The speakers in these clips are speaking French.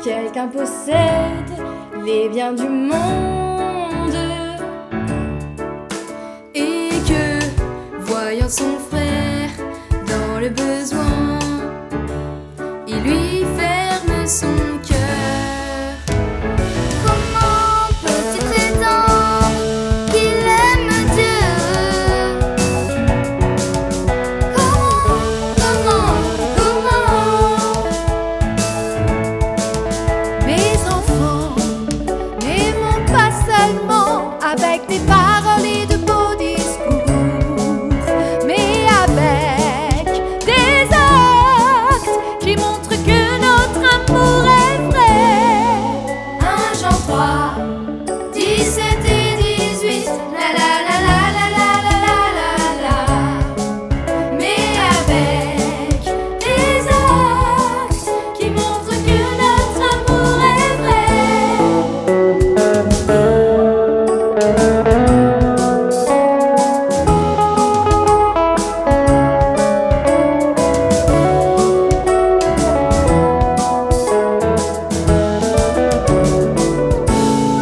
quelqu'un possède les biens du monde et que, voyant son frère dans le besoin, il lui ferme son cœur. Comment peux-tu prétendre qu'il aime Dieu? Comment? Mes enfants, n'aimons pas seulement avec des paroles et de beaux discours, mais avec des actes qui montrent que notre amour est vrai. 1 Jean 3, 17 et 18, la la la la la la la la la la. Mais avec des actes qui montrent que notre amour est vrai.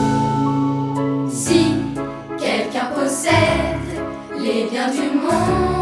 Si quelqu'un possède les biens du monde